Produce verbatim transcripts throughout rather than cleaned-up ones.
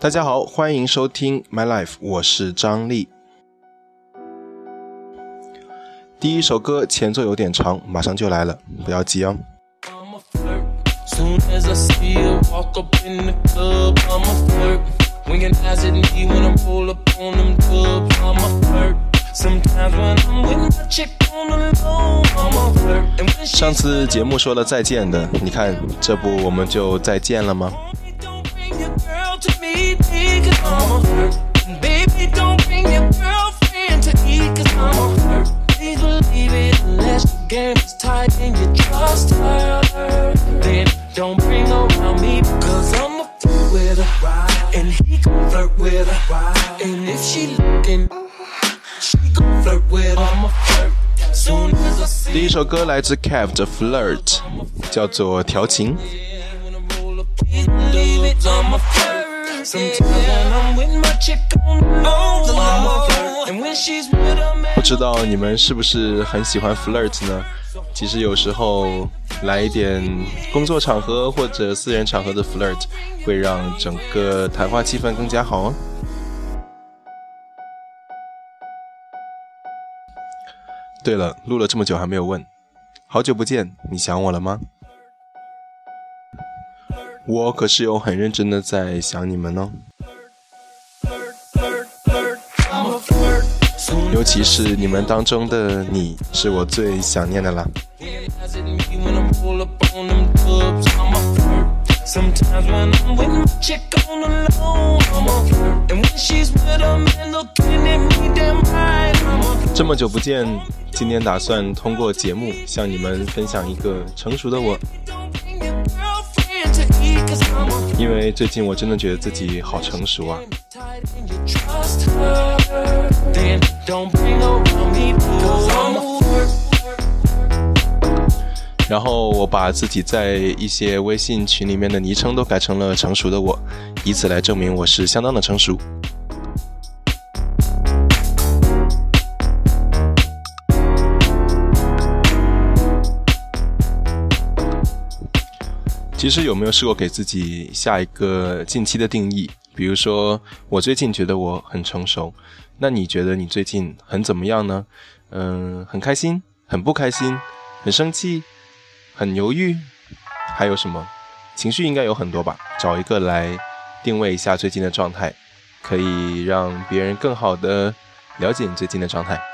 大家好，欢迎收听 My Life， 我是张力。第一首歌前奏有点长，马上就来了，不要急哦。Soon as I see her walk up in the club, I'm a flirt. Winking eyes at me when I roll up on them dubs, I'm a flirt. Sometimes when I'm with my chick on the low, I'm a flirt. 上次节目说了再见的，你看这不我们就再见了吗？ Don't bring your girl to me, cause I'm a flirt. Baby, don't bring your girlfriend to me, cause I'm a flirt. Please believe it unless the game is tight and you trust her. Then don't bring her around me, cause I'm a flirt with her. And he gon' flirt with her. And if she looking, she gon' flirt with her. I'm a flirt. Soon as I see. 第一首歌来自 Kev 的 Flirt， 叫做调情。I'm a flirt. Sometimes when I'm with my chick on the low, I'm a flirt. And when she's with her man. 不知道你们是不是很喜欢 Flirt 呢？其实有时候来一点工作场合或者私人场合的 Flirt 会让整个谈话气氛更加好哦。对了，录了这么久还没有问，好久不见，你想我了吗？我可是有很认真的在想你们哦，尤其是你们当中的你，是我最想念的啦。这么久不见，今天打算通过节目向你们分享一个成熟的我。因为最近我真的觉得自己好成熟啊。然后我把自己在一些微信群里面的昵称都改成了成熟的我，以此来证明我是相当的成熟。其实有没有试过给自己下一个近期的定义？比如说，我最近觉得我很成熟，那你觉得你最近很怎么样呢？嗯，很开心，很不开心，很生气，很犹豫，还有什么？情绪应该有很多吧？找一个来定位一下最近的状态，可以让别人更好的了解你最近的状态。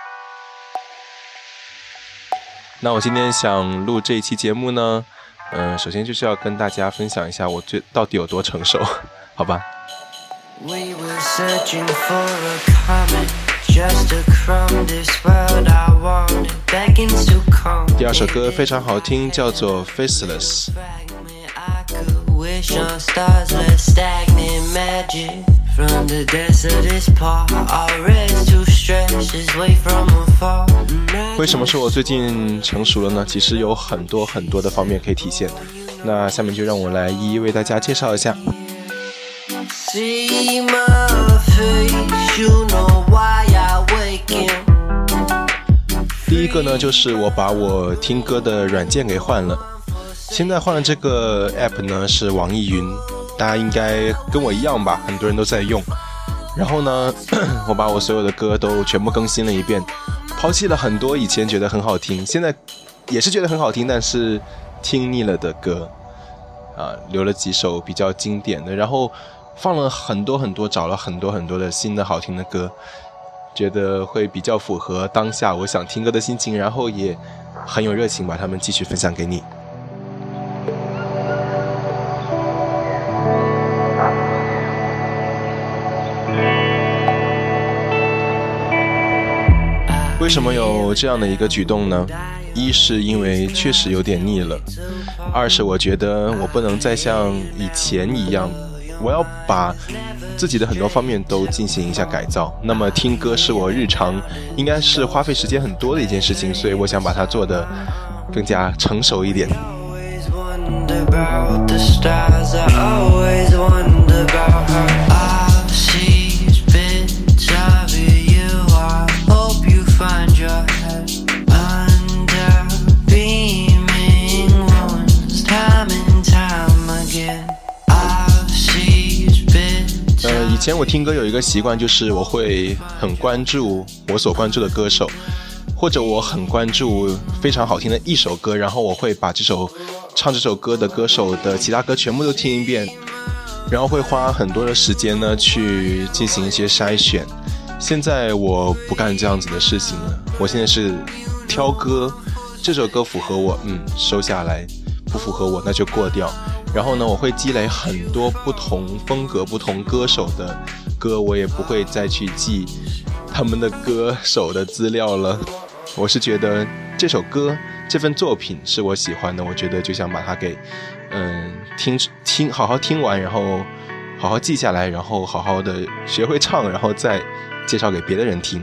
那我今天想录这一期节目呢，呃，首先就是要跟大家分享一下我最到底有多成熟，好吧？ We were searching for a comet, just a crumb, this world I wanted, begging to come. 第二首歌非常好听，叫做 Faceless。 I could wish on stars, less stagnant magic. From the depths of this part, our race to stretch this way from afar. 为什么说我最近成熟了呢？其实有很多很多的方面可以体现。那下面就让我来一一为大家介绍一下。See my face, you know why I wake up. 第一个呢，就是我把我听歌的软件给换了。现在换了这个 app 呢，是网易云，大家应该跟我一样吧，很多人都在用。然后呢，我把我所有的歌都全部更新了一遍，抛弃了很多以前觉得很好听，现在也是觉得很好听，但是听腻了的歌啊，留了几首比较经典的，然后放了很多很多，找了很多很多的新的好听的歌，觉得会比较符合当下我想听歌的心情，然后也很有热情把它们继续分享给你。为什么有这样的一个举动呢？一是因为确实有点腻了，二是我觉得我不能再像以前一样，我要把自己的很多方面都进行一下改造。那么听歌是我日常应该是花费时间很多的一件事情，所以我想把它做得更加成熟一点。Time and time again, I've seized bits 前我听歌有一个习惯，就是我会很关注我所关注的歌手，或者我很关注非常好听的一首歌，然后我会把这首唱这首歌的歌手的其他歌全部都听一遍，然后会花很多的时间呢去进行一些筛选。现在我不干这样子的事情了，我现在是挑歌，这首歌符合我，嗯，收下来，不符合我那就过掉。然后呢，我会积累很多不同风格、不同歌手的歌，我也不会再去记他们的歌手的资料了。我是觉得这首歌、这份作品是我喜欢的，我觉得就想把它给，嗯，听听，好好听完，然后好好记下来，然后好好的学会唱，然后再介绍给别的人听。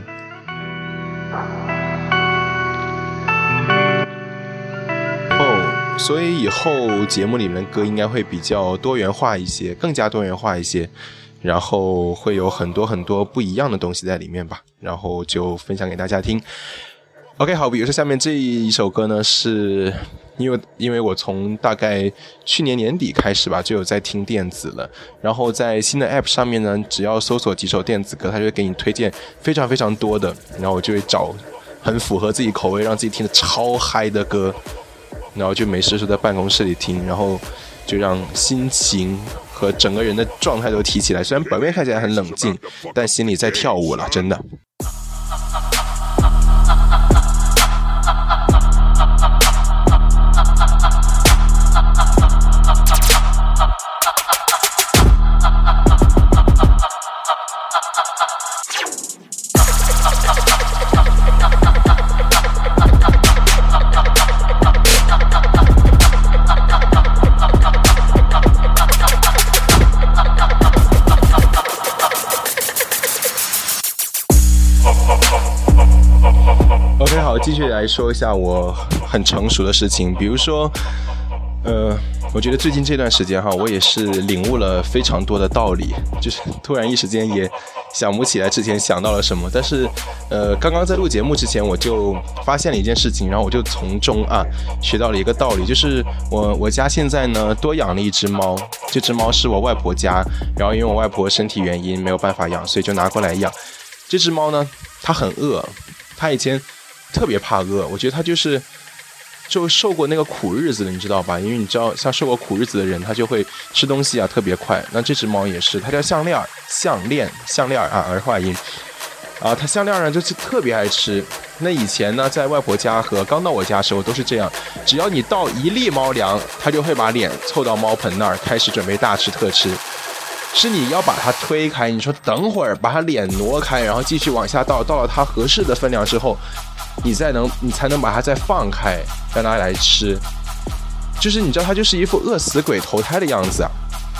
哦，所以以后节目里面的歌应该会比较多元化一些，更加多元化一些，然后会有很多很多不一样的东西在里面吧，然后就分享给大家听。OK， 好，比如说下面这一首歌呢，是因为因为我从大概去年年底开始吧，就有在听电子了，然后在新的 App 上面呢，只要搜索几首电子歌，它就会给你推荐非常非常多的，然后我就会找很符合自己口味，让自己听得超嗨的歌，然后就没事就在办公室里听，然后就让心情和整个人的状态都提起来。虽然表面看起来很冷静，但心里在跳舞了，真的。OK， 好，继续来说一下我很成熟的事情，比如说，呃，我觉得最近这段时间哈，我也是领悟了非常多的道理，就是突然一时间也想不起来之前想到了什么，但是，呃，刚刚在录节目之前我就发现了一件事情，然后我就从中啊学到了一个道理，就是我我家现在呢多养了一只猫，这只猫是我外婆家，然后因为我外婆身体原因没有办法养，所以就拿过来养。这只猫呢，它很饿，它以前特别怕饿，我觉得它就是就受过那个苦日子的，你知道吧？因为你知道像受过苦日子的人，他就会吃东西啊特别快。那这只猫也是，它叫项链项链项链啊，儿化音啊，它项链呢就是特别爱吃。那以前呢，在外婆家和刚到我家的时候都是这样，只要你倒一粒猫粮，它就会把脸凑到猫盆那儿，开始准备大吃特吃。是你要把它推开，你说等会儿把它脸挪开，然后继续往下倒，到了它合适的分量之后，你再能你才能把它再放开，让它来吃。就是你知道它就是一副饿死鬼投胎的样子啊。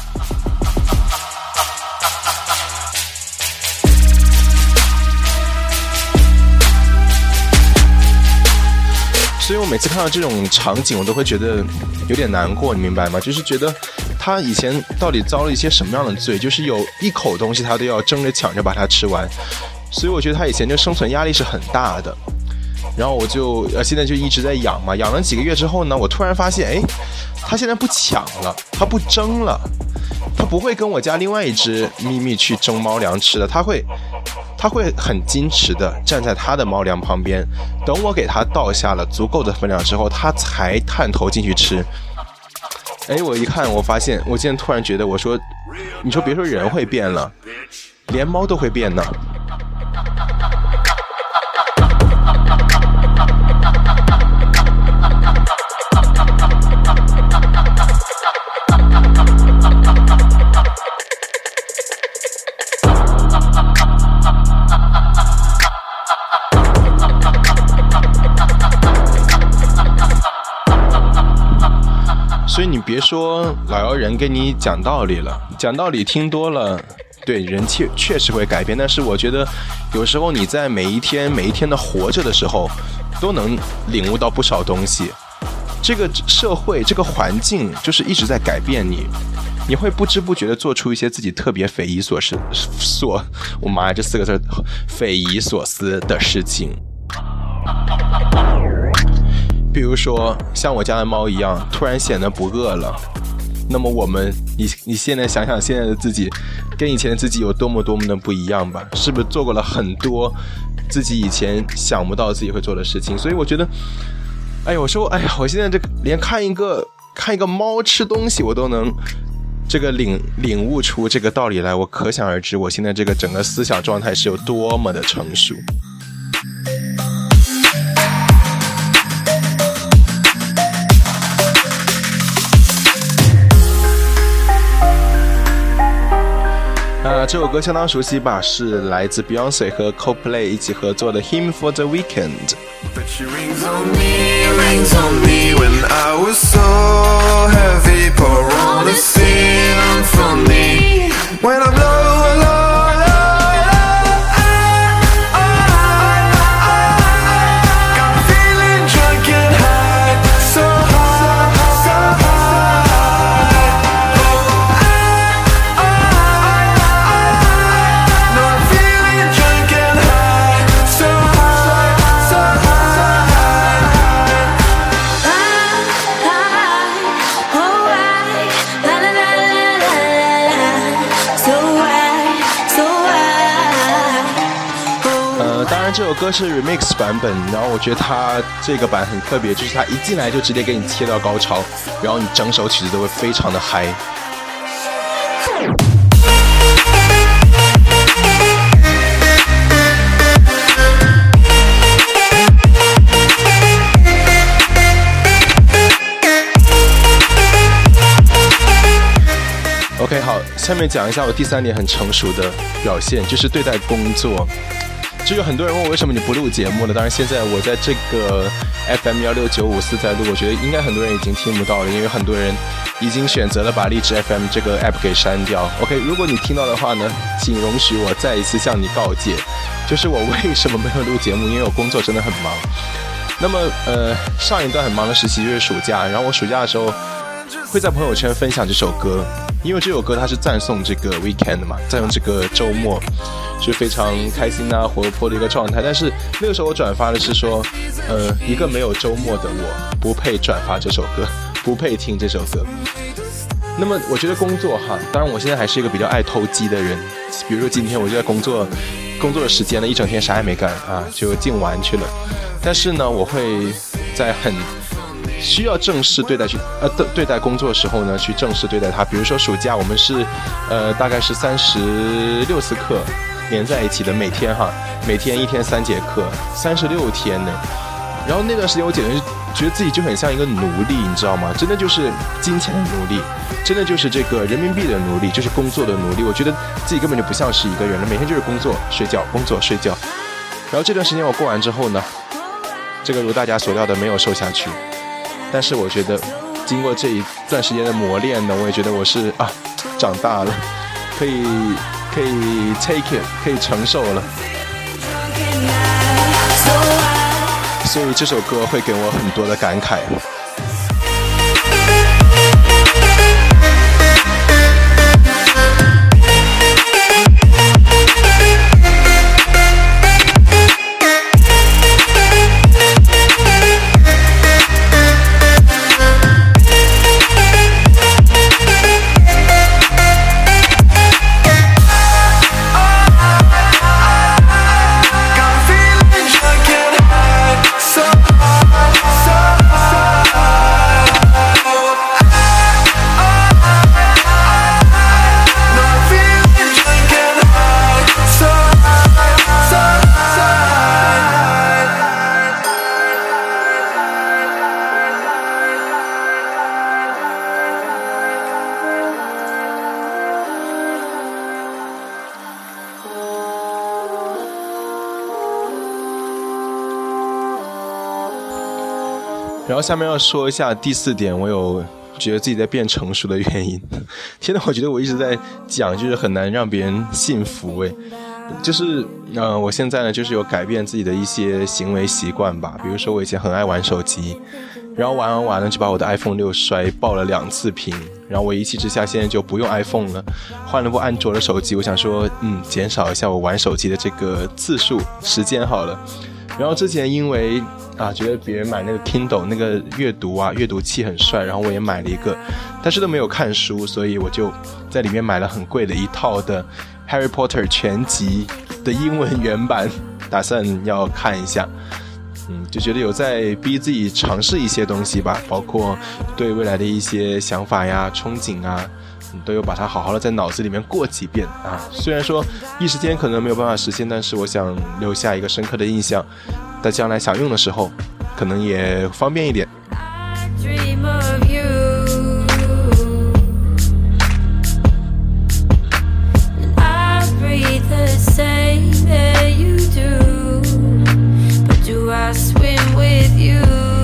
所以我每次看到这种场景，我都会觉得有点难过，你明白吗？就是觉得他以前到底遭了一些什么样的罪，就是有一口东西他都要争着抢着把它吃完，所以我觉得他以前就生存压力是很大的。然后我就呃现在就一直在养嘛，养了几个月之后呢，我突然发现，哎，他现在不抢了，他不争了，他不会跟我家另外一只咪咪去争猫粮吃的，他会他会很矜持的站在他的猫粮旁边，等我给他倒下了足够的分量之后，他才探头进去吃。哎，我一看，我发现，我今天突然觉得，我说，你说别说人会变了，连猫都会变呢。所以你别说老妖人跟你讲道理了，讲道理听多了，对人确确实会改变。但是我觉得有时候你在每一天每一天的活着的时候，都能领悟到不少东西。这个社会这个环境就是一直在改变你，你会不知不觉的做出一些自己特别匪夷所思所我妈呀这四个字匪夷所思的事情。比如说像我家的猫一样，突然显得不饿了， 那么我们你你现在想想现在的自己跟以前的自己有多么多么的不一样吧，是不是做过了很多自己以前想不到自己会做的事情。所以我觉得哎呀，我说哎呀，我现在这个连看一个看一个猫吃东西我都能这个领领悟出这个道理来，我可想而知我现在这个整个思想状态是有多么的成熟。啊，这首歌相当熟悉吧，是来自 Beyonce 和 Coldplay 一起合作的 Hymn for the Weekend。But she rings on me, rings on me when I was so heavy, pour all the sin from me when I'm low, low, low, low, got feeling drunk and high, so high, so high, no, I'm feeling drunk and high, so high, so high。 呃，当然这首歌是 remix 版本，然后我觉得它这个版很特别，就是它一进来就直接给你切到高潮，然后你整首曲子都会非常的嗨。OK， 好，下面讲一下我第三点很成熟的表现，就是对待工作。就有很多人问我为什么你不录节目了，当然现在我在这个 F M 一六九五四在录，我觉得应该很多人已经听不到了，因为很多人已经选择了把荔枝 F M 这个 app 给删掉。OK， 如果你听到的话呢，请容许我再一次向你告诫，就是我为什么没有录节目，因为我工作真的很忙。那么呃，上一段很忙的时期就是暑假，然后我暑假的时候会在朋友圈分享这首歌，因为这首歌它是赞颂这个 weekend 嘛，赞颂这个周末是非常开心啊活泼的一个状态。但是那个时候我转发的是说呃，一个没有周末的我不配转发这首歌，不配听这首歌。那么我觉得工作哈，当然我现在还是一个比较爱偷鸡的人，比如说今天我就在工作工作的时间呢，一整天啥也没干啊，就净玩去了。但是呢，我会在很需要正式对待去呃对待工作的时候呢，去正式对待它。比如说暑假我们是呃大概是三十六次课连在一起的，每天哈，每天一天三节课，三十六天呢。然后那段时间我简直觉得自己就很像一个奴隶，你知道吗？真的就是金钱的奴隶，真的就是这个人民币的奴隶，就是工作的奴隶。我觉得自己根本就不像是一个人了，每天就是工作睡觉工作睡觉。然后这段时间我过完之后呢，这个如大家所料的没有瘦下去，但是我觉得经过这一段时间的磨练呢，我也觉得我是啊长大了，可以可以 take it， 可以承受了。所以这首歌会给我很多的感慨。然后下面要说一下第四点，我有觉得自己在变成熟的原因。天哪，我觉得我一直在讲，就是很难让别人信服诶。就是呃，我现在呢，就是有改变自己的一些行为习惯吧。比如说我以前很爱玩手机，然后玩完玩呢就把我的 iPhone 六摔爆了两次屏，然后我一气之下现在就不用 iPhone 了，换了部安卓的手机。我想说嗯，减少一下我玩手机的这个次数时间好了。然后之前因为啊，觉得别人买那个 Kindle 那个阅读啊阅读器很帅，然后我也买了一个，但是都没有看书，所以我就在里面买了很贵的一套的 Harry Potter 全集的英文原版，打算要看一下。嗯，就觉得有在逼自己尝试一些东西吧，包括对未来的一些想法呀、憧憬啊，嗯、都有把它好好的在脑子里面过几遍啊。虽然说一时间可能没有办法实现，但是我想留下一个深刻的印象，在将来想用的时候，可能也方便一点。 I swim with you.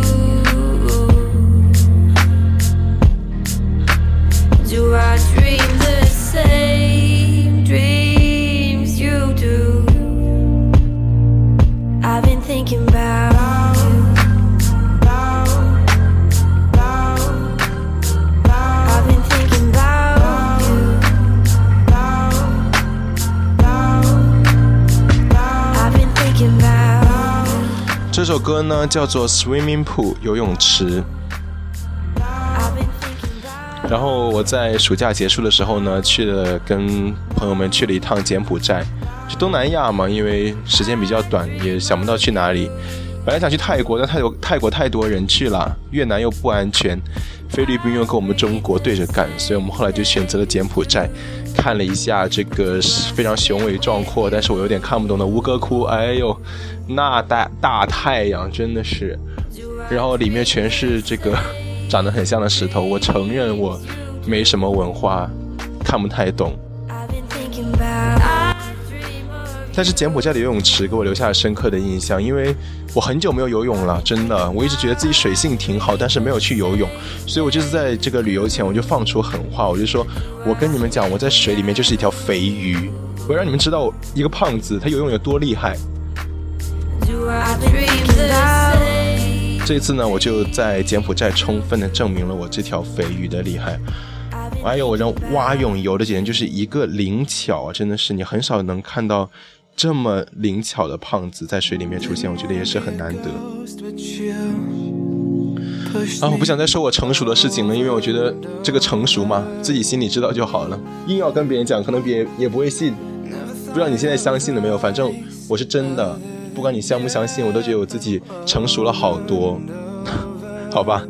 Do I dream the same dreams you do? I've been thinking about you. I've been thinking about you. I've been thinking about 这首歌呢叫做 Swimming Pool 游泳池，然后我在暑假结束的时候呢去了跟朋友们去了一趟柬埔寨，去东南亚嘛，因为时间比较短，也想不到去哪里。本来想去泰国，但泰国泰国太多人去了，越南又不安全，菲律宾又跟我们中国对着干，所以我们后来就选择了柬埔寨，看了一下这个非常雄伟壮阔，但是我有点看不懂的吴哥窟，哎呦，那大大太阳真的是，然后里面全是这个长得很像的石头，我承认我没什么文化，看不太懂。但是柬埔寨的游泳池给我留下了深刻的印象，因为我很久没有游泳了，真的，我一直觉得自己水性挺好，但是没有去游泳，所以我就是在这个旅游前我就放出狠话，我就说，我跟你们讲，我在水里面就是一条肥鱼，我让你们知道一个胖子他游泳有多厉害。这一次呢，我就在柬埔寨充分的证明了我这条肥鱼的厉害。还有我人蛙泳游的简直就是一个灵巧，真的是你很少能看到这么灵巧的胖子在水里面出现，我觉得也是很难得。啊，我不想再说我成熟的事情了，因为我觉得这个成熟嘛，自己心里知道就好了，硬要跟别人讲，可能别人也不会信。不知道你现在相信了没有？反正我是真的，不管你相不相信，我都觉得我自己成熟了好多，好吧。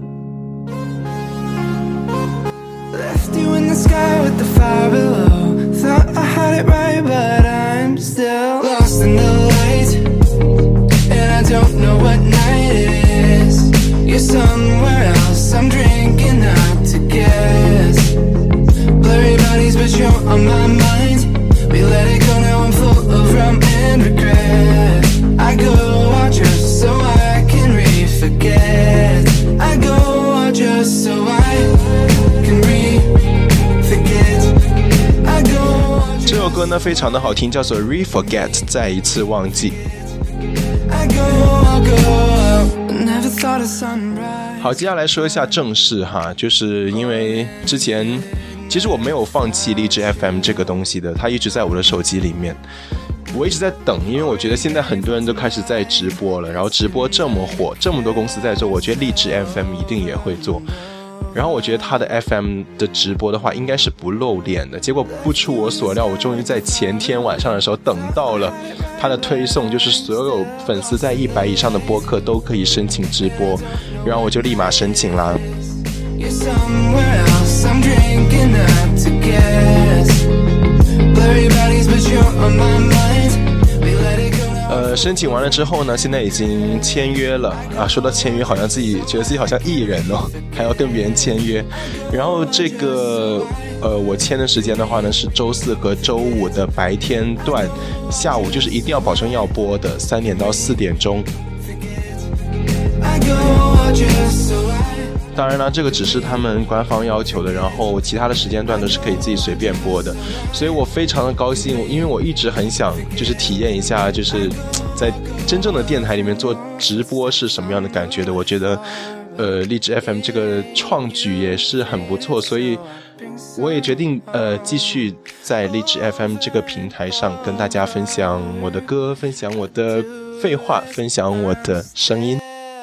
You in the sky with the fire below. Thought I had it right, but I'm still lost in the light, and I don't know what night it is. You're somewhere else, I'm drinking out to guess. Blurry bodies, but you're on my mind. We let it go, now I'm full of rum and regret. I go out just so I can re-forget. I go out just so I can re-forget. 这首歌呢非常的好听，叫做 Re-Forget 再一次忘记。好，接下来说一下正事哈，就是因为之前其实我没有放弃荔枝 F M 这个东西的，它一直在我的手机里面，我一直在等，因为我觉得现在很多人都开始在直播了，然后直播这么火，这么多公司在做，我觉得荔枝 F M 一定也会做。然后我觉得他的 F M 的直播的话应该是不露脸的，结果不出我所料，我终于在前天晚上的时候等到了他的推送，就是所有粉丝在一百以上的播客都可以申请直播，然后我就立马申请啦。呃，申请完了之后呢，现在已经签约了啊。说到签约，好像自己觉得自己好像艺人哦，还要跟别人签约。然后这个呃，我签的时间的话呢，是周四和周五的白天段，下午就是一定要保证要播的，三点到四点钟。当然了，这个只是他们官方要求的，然后其他的时间段都是可以自己随便播的，所以我非常的高兴，因为我一直很想就是体验一下，就是在真正的电台里面做直播是什么样的感觉的。我觉得呃，荔枝 F M 这个创举也是很不错，所以我也决定呃继续在荔枝 F M 这个平台上跟大家分享我的歌，分享我的废话，分享我的声音。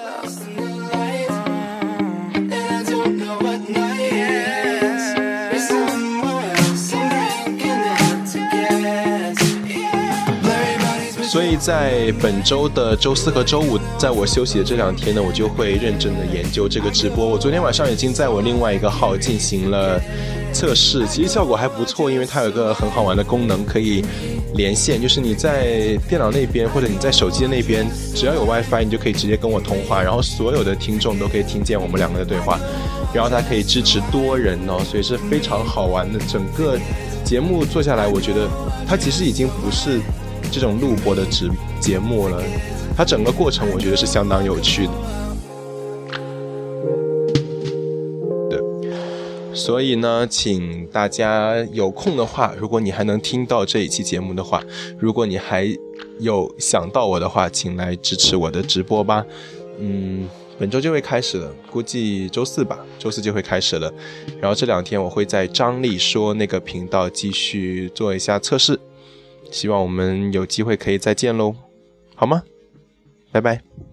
所以在本周的周四和周五，在我休息的这两天呢，我就会认真的研究这个直播。我昨天晚上已经在我另外一个号进行了测试，其实效果还不错，因为它有个很好玩的功能，可以连线，就是你在电脑那边或者你在手机的那边，只要有 WiFi， 你就可以直接跟我通话，然后所有的听众都可以听见我们两个的对话，然后它可以支持多人哦，所以是非常好玩的。整个节目做下来，我觉得它其实已经不是这种录播的直节目了，它整个过程我觉得是相当有趣的。所以呢，请大家有空的话，如果你还能听到这一期节目的话，如果你还有想到我的话，请来支持我的直播吧。嗯，本周就会开始了，估计周四吧，周四就会开始了。然后这两天我会在张力说那个频道继续做一下测试，希望我们有机会可以再见喽，好吗？拜拜。